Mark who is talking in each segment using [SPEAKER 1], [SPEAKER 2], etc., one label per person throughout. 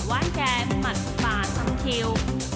[SPEAKER 1] 灣嘅文化心跳。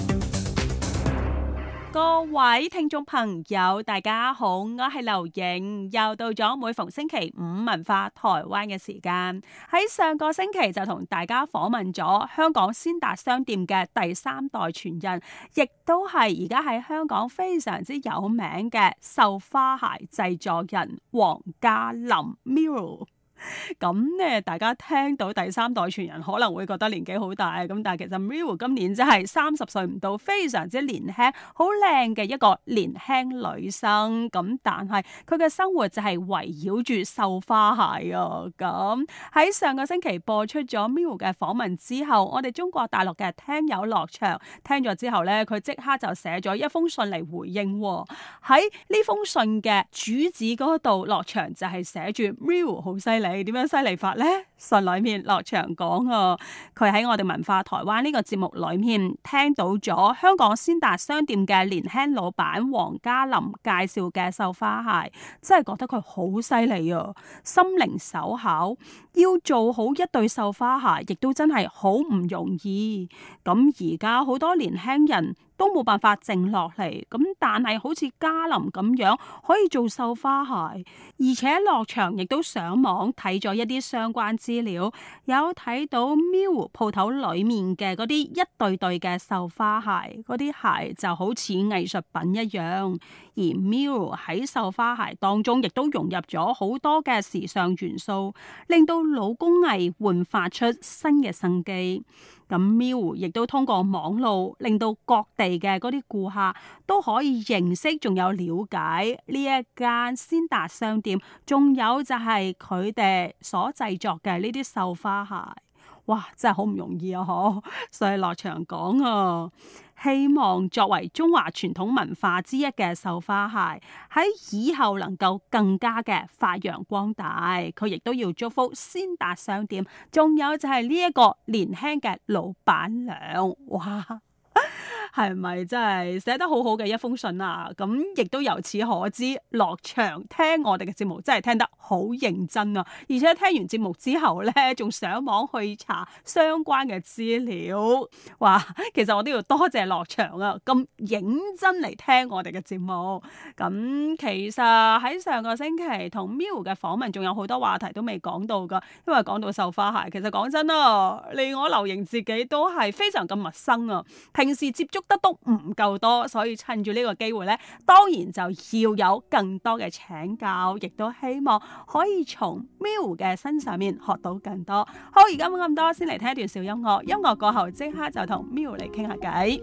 [SPEAKER 1] 各位聽眾朋友，大家好，我係劉影，又到咗每逢星期五文化台灣嘅時間。喺上個星期就同大家訪問咗香港先達商店嘅第三代傳人，亦都係而家喺香港非常之有名嘅繡花鞋製作人黃嘉林 Miro。咁咧，大家聽到第三代傳人可能會覺得年紀好大，咁但係其實 Miro 今年真係30歲唔到，非常之年輕，好靚嘅一個年輕女生。咁但係佢嘅生活就係圍繞住繡花鞋啊。咁喺上個星期播出咗 Miro 嘅訪問之後，我哋中國大陸嘅聽友樂祥聽咗之後咧，佢即刻就寫咗一封信嚟回應。喺呢封信嘅主旨嗰度，樂祥就係寫住 Miro 好犀利。點樣犀利法呢？信裏面樂祥講啊，佢喺我哋文化台灣呢個節目裏面聽到咗香港先達商店嘅年輕老闆黃嘉林介紹嘅繡花鞋，真係覺得佢好犀利啊！心靈手巧，要做好一對繡花鞋，亦都真係好唔容易。咁而家好多年輕人都冇辦法靜落嚟，咁但係好似嘉林咁樣可以做繡花鞋，而且樂祥亦都上網睇咗一啲相關資料，有睇到 Miro 鋪頭裏面嘅嗰啲一對對嘅繡花鞋，嗰啲鞋就好似藝術品一樣，而 Miro 喺繡花鞋當中亦都融入咗好多嘅時尚元素，令到老工藝煥發出新嘅生機。咁 Miro 亦都通過網路令到各地嘅嗰啲顧客都可以認識，仲有了解呢一間先達商店，仲有就係佢哋所製作嘅呢啲繡花鞋。哇，真係好唔容易啊！嗬，所以樂祥講啊，希望作為中華傳統文化之一嘅繡花鞋，喺以後能夠更加嘅發揚光大。佢亦都要祝福先達商店，仲有就係呢一個年輕嘅老闆娘。哇！係咪真係寫得好好嘅一封信啊？咁亦都由此可知，樂祥聽我哋嘅節目真係聽得好認真啊！而且聽完節目之後呢，仲上網去查相關嘅資料。哇！其實我都要多謝樂祥啊，咁認真嚟聽我哋嘅節目。咁其實喺上個星期同 Miro 嘅訪問，仲有好多話題都未講到噶，因為講到繡花鞋，其實講真啊，連我劉瑩自己都係非常咁陌生啊，平時接觸得都唔夠多，所以趁住呢個機會呢，當然就要有更多嘅請教，亦都希望可以從 Miro 嘅身上面學到更多。好，而家冇咁多，先嚟聽一段小音樂，音樂過後即刻就同 Miro 嚟傾下偈。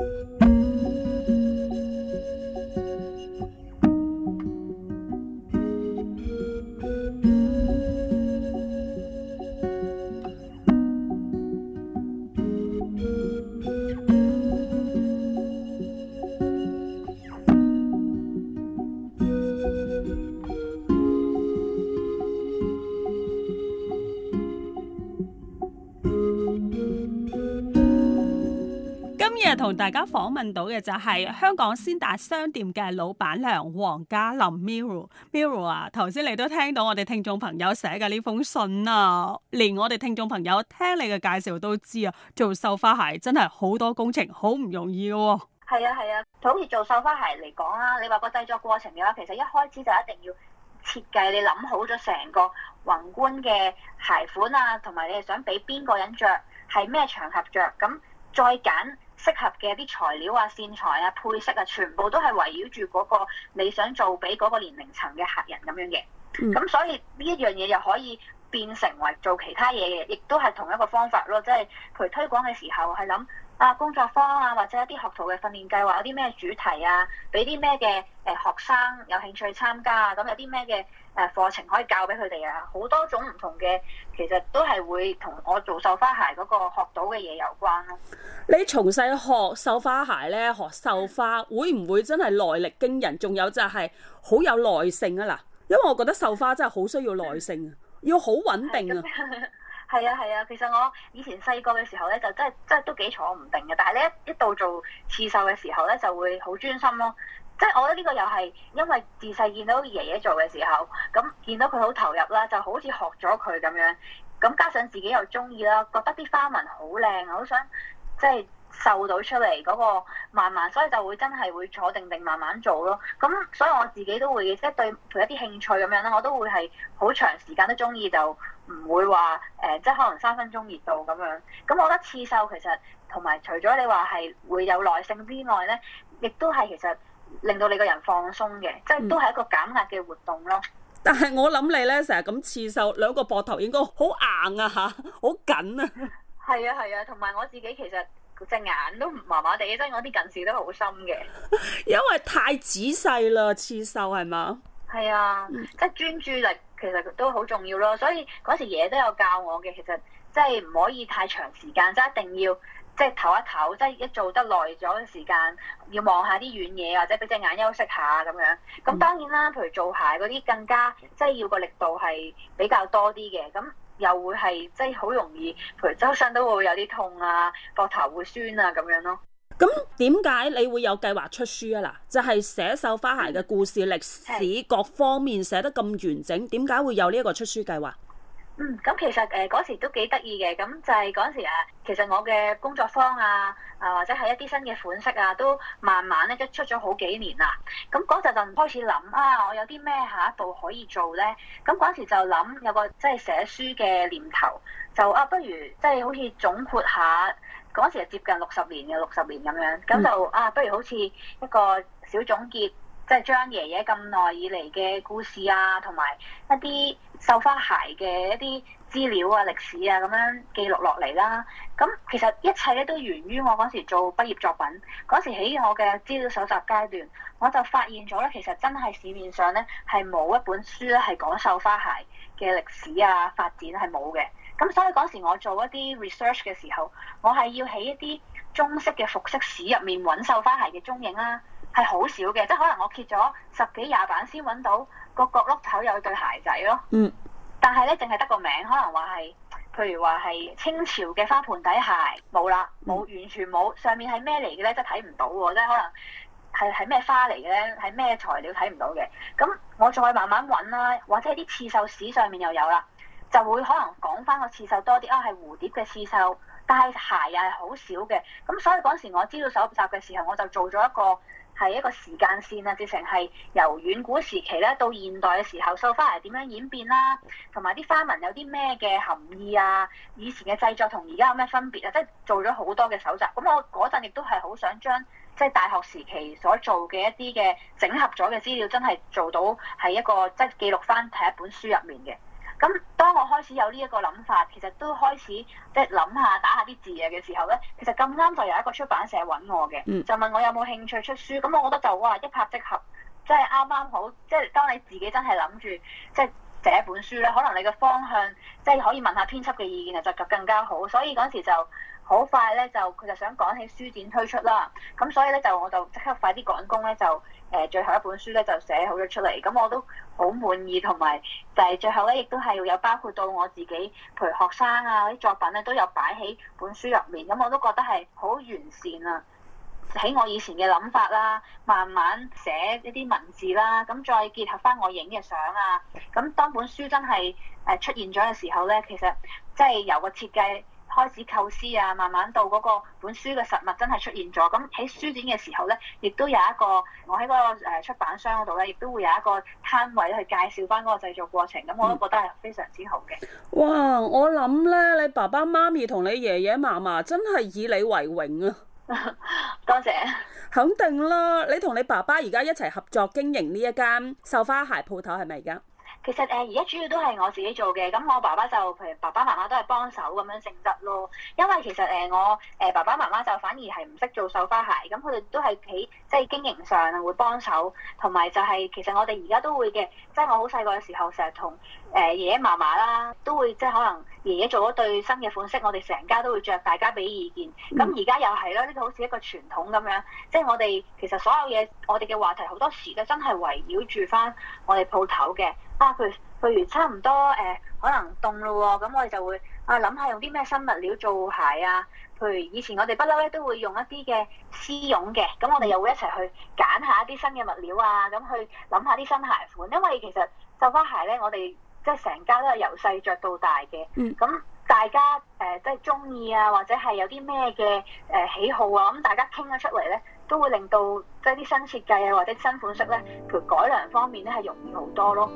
[SPEAKER 1] 今日同大家訪問到嘅就係香港先達商店嘅老闆娘黃嘉林 Miro 啊，頭先你都聽到我哋聽眾朋友寫嘅呢封信啊，連我哋聽眾朋友聽你嘅介紹都知啊，做繡花鞋真係好多工程，好唔容易嘅喎。
[SPEAKER 2] 係啊，好似做繡花鞋嚟講啦，你話個製作過程嘅話，其實一開始就一定要設計，你諗好咗成個宏觀嘅鞋款啊，同埋你係想俾邊個人着，係咩場合着，咁再揀適合嘅啲材料啊、線材啊、配色啊，全部都係圍繞住嗰個你想做俾嗰個年齡層嘅客人咁樣嘅。咁所以呢一樣嘢又可以變成為做其他嘢嘅，亦都係同一個方法咯。即係譬如推廣嘅時候係諗工作坊啊，或者一啲學徒嘅訓練計劃有啲咩主題啊，俾啲咩嘅學生有興趣參加啊，咁有啲咩嘅課程可以教俾佢哋啊，好多種唔同嘅，其實都係會同我做繡花鞋嗰個學到嘅嘢有關咯。
[SPEAKER 1] 你從細學繡花鞋咧，學繡花會唔會真係耐力驚人？仲有就係好有耐性啊！嗱，因為我覺得繡花真係好需要耐性啊，要好穩定啊。
[SPEAKER 2] 係啊，其實我以前細個嘅時候咧，就真係都幾坐唔定嘅。但係咧一到做刺繡嘅時候咧，就會好專心咯。即係我覺得呢個又係因為自細見到爺爺做嘅時候，咁見到佢好投入啦，就好似學咗佢咁樣。 咁加上自己又中意啦，覺得啲花紋好靚，我好想即係繡到出嚟嗰個慢慢，所以就會真係會坐定定慢慢做咯。咁所以我自己都會即係對佢一啲興趣咁樣啦，我都會係好長時間都中意，就唔會話即係可能3分鐘熱度咁樣。咁我覺得刺繡其實同埋除咗你話係會有耐性之外咧，亦都係其實令到你個人放鬆嘅，即係都係一個減壓嘅活動咯。
[SPEAKER 1] 但係我諗你咧成日咁刺繡，兩個膊頭應該好硬啊嚇，好緊啊！
[SPEAKER 2] 係啊係啊，同埋我自己其實隻眼都麻麻地，即係我啲近視都好深嘅。
[SPEAKER 1] 因為太仔細啦，刺繡係嘛？
[SPEAKER 2] 係啊，即係專注力其實都好重要咯。所以嗰時爺爺都有教我嘅，其實即係唔可以太長時間，即係一定要即係唞一唞，即係一做得耐咗嘅時間，要望下啲遠嘢或者俾隻眼休息下咁樣。咁當然啦，譬如做鞋嗰啲更加即係要個力度係比較多啲嘅，咁又會係即係好容易，譬如周身都會有啲痛啊，膊頭會酸啊咁樣咯。
[SPEAKER 1] 咁點解你會有計劃出書啊？嗱，就係寫繡花鞋嘅故事、歷史各方面寫得咁完整，點解會有呢一個出書計劃？
[SPEAKER 2] 咁其實嗰時都幾得意嘅，咁就係嗰時其實我嘅工作坊或者係一啲新嘅款式都慢慢咧都出咗好幾年啦。咁嗰陣就開始諗我有啲咩下一步可以做咧？咁嗰時就諗有個即係寫書嘅念頭，就不如即係好似總括下嗰時係接近60年嘅60年咁樣，咁就不如好似一個小總結。即係將爺爺咁耐以嚟嘅故事同埋一啲繡花鞋嘅一啲資料歷史咁樣記錄落嚟啦。咁其實一切咧都源於我嗰時做畢業作品。嗰時喺我嘅資料搜集階段，我就發現咗咧，其實真係市面上咧係冇一本書咧係講繡花鞋嘅歷史發展係冇嘅。咁所以嗰時我做一啲 research 嘅時候，我係要喺一啲中式嘅服飾史入面揾繡花鞋嘅蹤影啦。係好少嘅，即係可能我揭咗10幾20版先揾到個角落頭有對鞋仔咯。但係咧，淨係得個名，可能話係，譬如話係清朝嘅花盆底鞋，冇啦，冇完全冇。上面係咩嚟嘅咧？即係睇唔到喎，即係可能係咩花嚟嘅咧？係咩材料睇唔到嘅？咁我再慢慢揾啦，或者係啲刺繡史上面又有啦，就會可能講翻個刺繡多啲係蝴蝶嘅刺繡，但係鞋又係好少嘅。咁所以嗰時我資料搜集嘅時候，我就做咗一個時間線直情係由遠古時期咧到現代嘅時候，繡花鞋點樣演變啦，同埋啲花紋有啲咩嘅含義以前嘅製作同而家有咩分別即係做咗好多嘅搜集。咁我嗰陣亦都係好想將即係大學時期所做嘅一啲嘅整合咗嘅資料，真係做到係一個即係記錄翻喺一本書入面嘅。咁當我開始有呢一個諗法，其實都開始即係諗下打下啲字嘅時候咧，其實咁啱就有一個出版社揾我嘅，就問我有冇興趣出書。咁我覺得就一拍即合，即係啱啱好。即係當你自己真係諗住即係寫一本書咧，可能你嘅方向即係可以問下編輯嘅意見就更加好。所以嗰時就好快咧，佢就想趕起書展推出啦。咁所以咧我就即刻快啲趕工咧最後一本書咧就寫好咗出嚟，咁我都好滿意，同埋就係最後咧亦都係有包括到我自己，譬如學生啲作品咧都有擺喺本書入面，咁我都覺得係好完善啊！喺我以前嘅諗法啦，慢慢寫一啲文字啦，咁再結合翻我影嘅相咁當本書真係出現咗嘅時候咧，其實即係由個設計開始構思慢慢到嗰個本書嘅實物真係出現咗。咁喺書展嘅時候咧，亦都有一個我喺嗰個出版商嗰度咧，亦都會有一個攤位去介紹翻嗰個製作過程。咁我都覺得係非常之好嘅。
[SPEAKER 1] 哇！我諗咧，你爸爸媽咪同你爺爺嫲嫲真係以你為榮啊！
[SPEAKER 2] 多謝。
[SPEAKER 1] 肯定啦，你同你爸爸而家一齊合作經營呢一間繡花鞋鋪頭係咪而家？
[SPEAKER 2] 其實而家主要都係我自己做嘅，咁我爸爸就譬如爸爸媽媽都係幫手咁樣性質咯。因為其實我爸爸媽媽就反而係唔識做繡花鞋，咁佢哋都係喺即係經營上會幫手，同埋就係其實我哋而家都會嘅，即係我好細個嘅時候成日同爺爺嫲嫲啦，都會即係可能爺爺做咗對新嘅款式，我哋成家都會着，大家俾意見。咁而家又係啦，呢個好似一個傳統咁樣，即係我哋其實所有嘢，我哋嘅話題好多時咧真係圍繞住翻我哋鋪頭嘅。譬如差唔多可能凍咯喎，咁我哋就會諗下用啲咩新物料做鞋譬如以前我哋不嬲咧都會用一啲嘅絲絨嘅，咁我哋又會一齊去揀下一啲新嘅物料咁去諗下啲新鞋款。因為其實繡花鞋咧，我哋即係成家都係由細着到大嘅。咁大家即係中意啊，或者係有啲咩嘅喜好啊，咁大家傾咗出嚟咧，都會令到即係啲新設計啊或者新款式咧，佢改良方面咧係容易好多咯。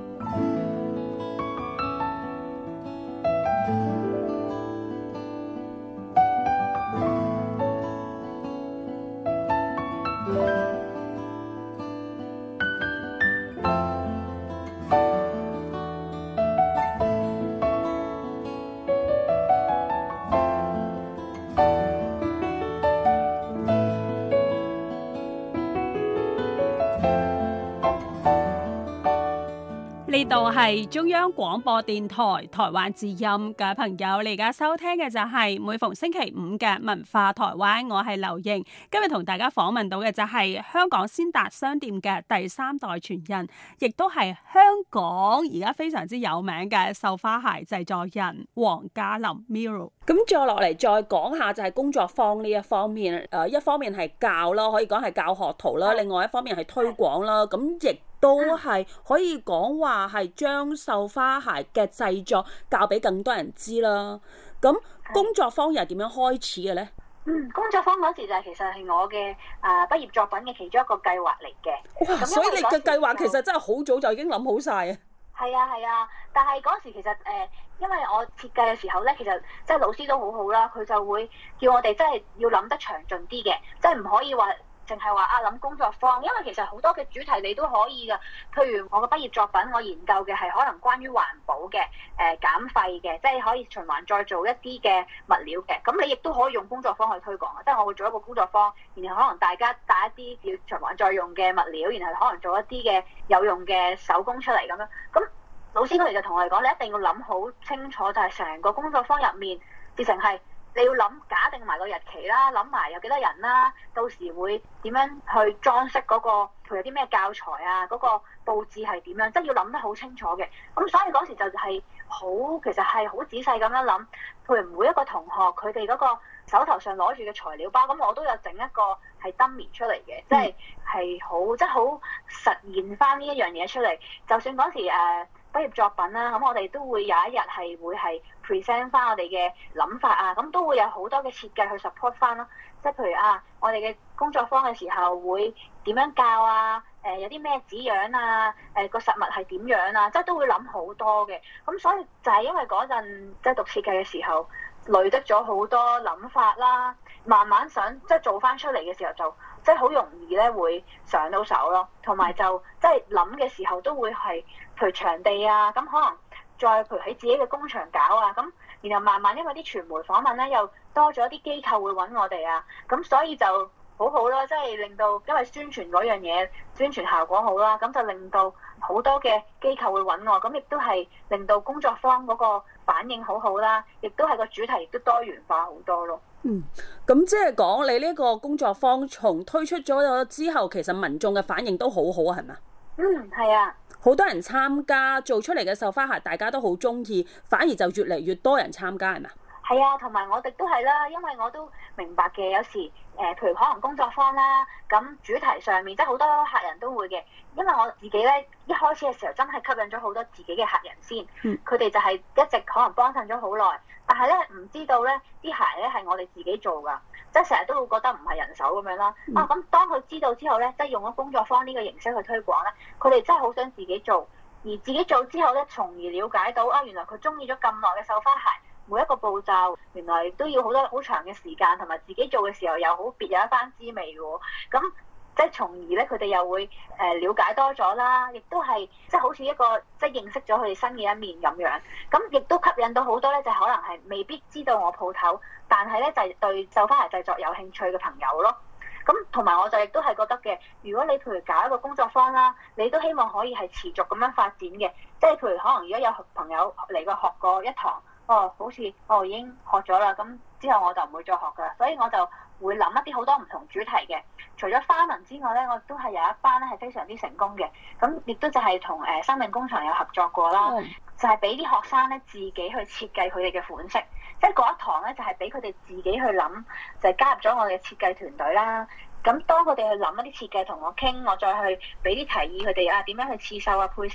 [SPEAKER 1] 呢度係中央廣播電台台灣之音嘅朋友，你而家收聽嘅就係每逢星期五嘅文化台灣，我係劉瑩。今日同大家訪問到嘅就係香港先達商店嘅第3代傳人，亦都係香港而家非常之有名嘅繡花鞋製作人黃嘉琳 Miro。咁再落嚟再講下就係工作坊呢一方面，一方面係教啦，可以講係教學徒啦，另外一方面係推廣啦，咁亦都係可以講話係將繡花鞋嘅製作教俾更多人知啦。咁工作坊又係點樣開始嘅呢？
[SPEAKER 2] 工作坊嗰時就係其實係我嘅畢業作品嘅其中一個計劃嚟嘅。
[SPEAKER 1] 哇！所以你嘅計劃其實真係好早就已經諗好晒啊！
[SPEAKER 2] 係啊，但係嗰時其實因為我設計嘅時候咧，其實即係老師都好好啦，佢就會叫我哋真係要諗得詳盡啲嘅，即係唔可以話淨係話諗工作坊，因為其實好多嘅主題你都可以㗎。譬如我嘅畢業作品，我研究嘅係可能關於環保嘅、減廢嘅，即係可以循環再做一啲嘅物料嘅。咁你亦都可以用工作坊去推廣，即係我會做一個工作坊，然後可能大家帶一啲要循環再用嘅物料，然後可能做一啲嘅有用嘅手工出嚟咁樣。咁老師佢哋就同我哋講，你一定要諗好清楚，就係成個工作坊入面變成係。你要諗假定埋個日期啦，諗埋有幾多人啦，到時會點樣去裝飾嗰個，譬如有啲咩教材啊，嗰個佈置係點樣，即係要諗得好清楚嘅。咁所以嗰時就係其實係好仔細咁樣諗，譬如每一個同學佢哋嗰個手頭上攞住嘅材料包，咁我都有整一個係 dummy 出嚟嘅，即係好即係好實現翻呢一樣嘢出嚟。就算嗰時畢業作品啦，咁我哋都會有一日係會係 present 翻我哋嘅諗法啊，咁都會有好多嘅設計去 support 翻咯。即係譬如我哋嘅工作坊嘅時候會點樣教啊？有啲咩紙樣啊？個實物係點樣啊？即係都會諗好多嘅。咁所以就係因為嗰陣即係讀設計嘅時候累積咗好多諗法啦，慢慢想即係做翻出嚟嘅時候就即係好容易咧會上到手咯。同埋就即係諗嘅時候都會係譬如場地啊，咁可能再譬如喺自己嘅工場搞啊，咁然後慢慢因為啲傳媒訪問咧又多咗啲機構會揾我哋啊，咁所以就好好啦，即係令到因為宣傳嗰樣嘢宣傳效果好啦，咁就令到好多嘅機構會揾我，咁亦都係令到工作坊嗰個反應好好啦，亦都係個主題亦都多元化好多咯。
[SPEAKER 1] 咁即係講你呢個工作坊從推出咗之後，其實民眾嘅反應都好好啊，係咪？
[SPEAKER 2] 係啊。
[SPEAKER 1] 好多人參加，做出嚟嘅繡花鞋大家都好中意，反而就越嚟越多人參加，係咪？
[SPEAKER 2] 係啊，同埋我哋都係啦，因為我都明白嘅，有時譬如可能工作坊啦，咁主題上面即係好多客人都會嘅，因為我自己咧一開始嘅時候真係吸引咗好多自己嘅客人先，佢哋就係一直可能幫襯咗好耐，但係咧唔知道咧啲鞋咧係我哋自己做㗎，即係成日都會覺得唔係人手咁樣啦。咁當佢知道之後咧，即係用咗工作坊呢個形式去推廣咧，佢哋真係好想自己做，而自己做之後咧，從而了解到原來佢中意咗咁耐嘅繡花鞋。每一個步驟原來都要好多好長嘅時間，同埋自己做嘅時候又好別有一番滋味喎。咁即係從而咧，佢哋又會了解多咗啦，亦都係即係好似一個即係認識咗佢哋新嘅一面咁樣。咁亦都吸引到好多咧，就可能係未必知道我鋪頭，但係咧就係對繡花鞋製作有興趣嘅朋友咯。咁同埋我就亦都係覺得嘅，如果你譬如搞一個工作坊啦，你都希望可以係持續咁樣發展嘅，即係譬如可能如果有朋友嚟過學過一堂。好似已經學咗啦，咁之後我就唔會再學噶啦，所以我就會諗一啲好多唔同主題嘅。除咗花紋之外咧，我都係有一班咧係非常之成功嘅，咁亦都就係同生命工廠有合作過啦，就係俾啲學生咧自己去設計佢哋嘅款式，即係嗰一堂咧就係俾佢哋自己去諗，就係加入咗我哋嘅設計團隊啦。咁當佢哋去諗一啲設計同我傾，我再去俾啲提議佢哋點樣去刺繡啊配飾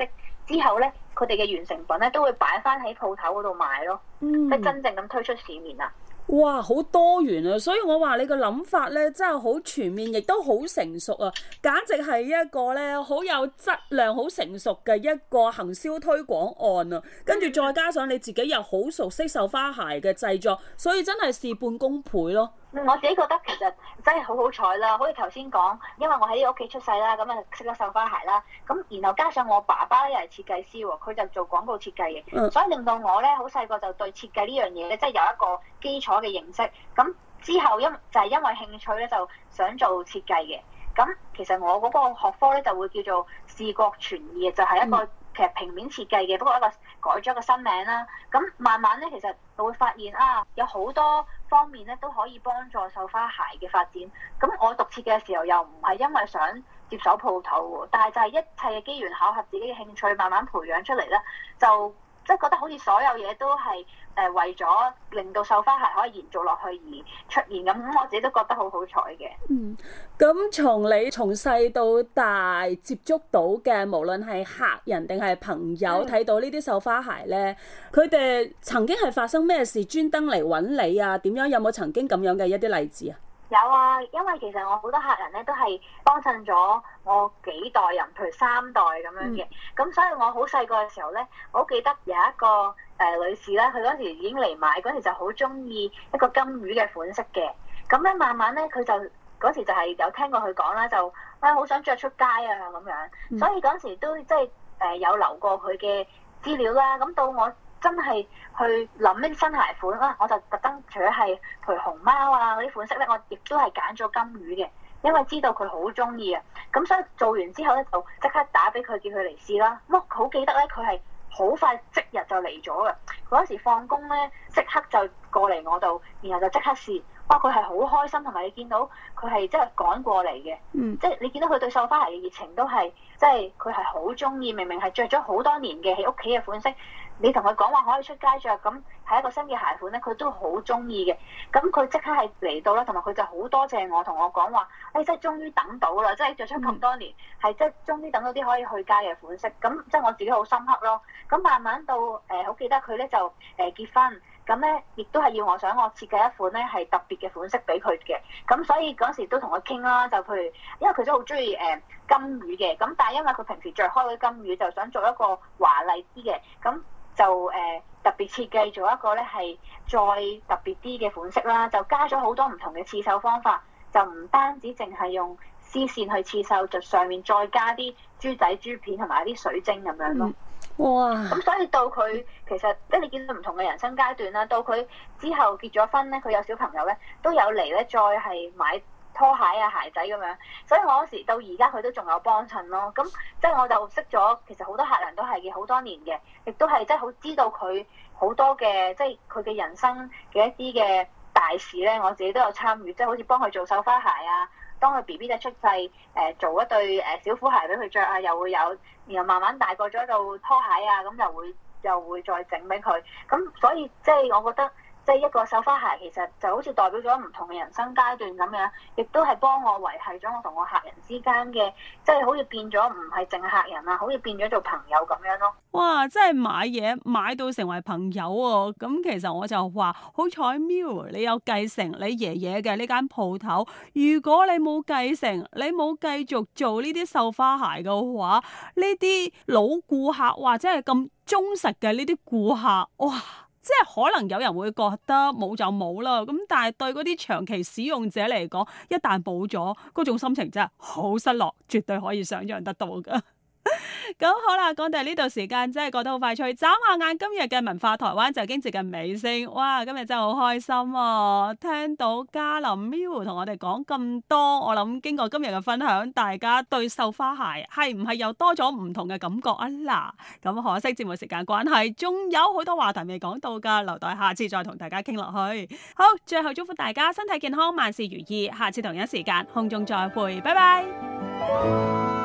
[SPEAKER 2] 之後咧，佢哋嘅完成品咧都會擺翻喺鋪頭嗰度賣咯，即係真正咁推出市面啦。
[SPEAKER 1] 哇，好多元啊！所以我話你個諗法咧，真係好全面，亦都好成熟啊！簡直係一個咧好有質量、好成熟嘅一個行銷推廣案啊！跟住再加上你自己又好熟悉繡花鞋嘅製作，所以真係事半功倍咯。
[SPEAKER 2] 我自己覺得其實真係好好彩啦，好似頭先講，因為我喺呢個屋企出世啦，咁啊識咗繡花鞋啦，咁然後加上我爸爸咧又係設計師喎，佢就做廣告設計嘅，所以令到我咧好細個就對設計呢樣嘢咧，即係有一個基礎嘅認識。咁之後就係因為興趣咧，就想做設計嘅。咁其實我嗰個學科咧就會叫做視覺傳意，就係一個其實平面設計嘅，不過改咗一個新名啦。咁慢慢咧，其實就會發現有好多方面咧都可以幫助繡花鞋嘅發展。咁我讀設計嘅時候又唔係因為想接手鋪頭喎，但係就係一切嘅機緣巧合，自己嘅興趣慢慢培養出嚟咧，就即係覺得好似所有嘢都係為咗令到繡花鞋可以延續落去而出現咁，我自己都覺得好好彩嘅。
[SPEAKER 1] 咁從你從細到大接觸到嘅，無論係客人定係朋友睇到呢啲繡花鞋咧，佢哋曾經係發生咩事專登嚟揾你啊？點樣有冇曾經咁樣嘅一啲例子啊？
[SPEAKER 2] 有啊，因為其實我好多客人咧都係幫襯咗我幾代人，譬如3代咁樣嘅。咁所以我好細個嘅時候咧，我好記得有一個女士咧，佢嗰時已經嚟買，嗰時就好中意一個金魚嘅款式嘅。咁咧慢慢咧，佢就嗰時就係有聽過佢講啦，就好想着出街啊咁樣。所以嗰時都即係有留過佢嘅資料啦。咁到我真係去諗呢啲新鞋款啦，我就特登除咗係譬如熊貓啊嗰啲款式咧，我亦都係揀咗金魚嘅，因為知道佢好中意啊。咁所以做完之後咧，就即刻打俾佢，叫佢嚟試啦。咁我好記得咧，佢係好快即日就嚟咗嘅。嗰時放工咧，即刻就過嚟我度，然後就即刻試。哇！佢係好開心，同埋你見到佢係即係趕過嚟嘅，即係你見到佢對繡花鞋嘅熱情都係，即係佢係好中意。明明係着咗好多年嘅喺屋企嘅款式，你同佢講話可以出街着，咁係一個新嘅鞋款咧，佢都好中意嘅。咁佢即刻係嚟到啦，同埋佢就好多謝我，同我講話，即係終於等到啦，即係着咗咁多年，係即係終於等到啲可以去街嘅款式。咁即係我自己好深刻咯。咁慢慢到好記得佢咧就結婚。咁咧，亦都係要我想我設計一款咧係特別嘅款式俾佢嘅。咁所以嗰時都同佢傾啦，就譬如因為佢都好中意金魚嘅，咁但係因為佢平時着開嗰啲金魚，就想做一個華麗啲嘅，咁就特別設計做一個咧係再特別啲嘅款式啦，就加咗好多唔同嘅刺繡方法，就唔單止淨係用絲線去刺繡，就上面再加啲珠仔珠片同埋啲水晶咁樣咯。
[SPEAKER 1] 哇！
[SPEAKER 2] 咁所以到佢其實即係你見到唔同嘅人生階段啦，到佢之後結咗婚咧，佢有小朋友咧，都有嚟咧再係買拖鞋啊鞋仔咁樣。所以我嗰時到而家佢都仲有幫襯咯。咁即係我就識咗其實好多客人都係嘅好多年嘅，亦都係即係好知道佢好多嘅即係佢嘅人生嘅一啲嘅大事咧，我自己都有參與，即係好似幫佢做繡花鞋啊。當佢 BB 仔出世，做一對小虎鞋俾佢着啊，又會有，然後慢慢大個咗到拖鞋啊，咁又會再整俾佢。咁所以即係我覺得，即係一個繡花鞋其實就好似代表咗唔同嘅人生階段咁樣，亦都係幫我維繫咗我同我客人之間嘅，即係好似變咗唔係淨係客人啊，好似變咗做朋友咁樣咯。
[SPEAKER 1] 哇！真係買嘢買到成為朋友喎。咁其實我就話好彩 Miu 你有繼承你爺爺嘅呢間鋪頭。如果你冇繼承，你冇繼續做呢啲繡花鞋嘅話，呢啲老顧客或者係咁忠實嘅呢啲顧客，哇！即係可能有人會覺得冇就冇啦，咁但係對嗰啲長期使用者嚟講，一旦冇咗，嗰種心情真係好失落，絕對可以想象得到噶。咁好啦，講到呢度時間真係過得好快脆，眨下眼今日嘅文化台灣就已經接近尾聲。哇，今日真係好開心啊！聽到嘉琳 Miu 同我哋講咁多，我諗經過今日嘅分享，大家對繡花鞋係唔係又多咗唔同嘅感覺啊？嗱，咁可惜節目時間關係，仲有好多話題未講到噶，留待下次再同大家傾落去。好，最後祝福大家身體健康，萬事如意，下次同一時間空中再會，拜拜。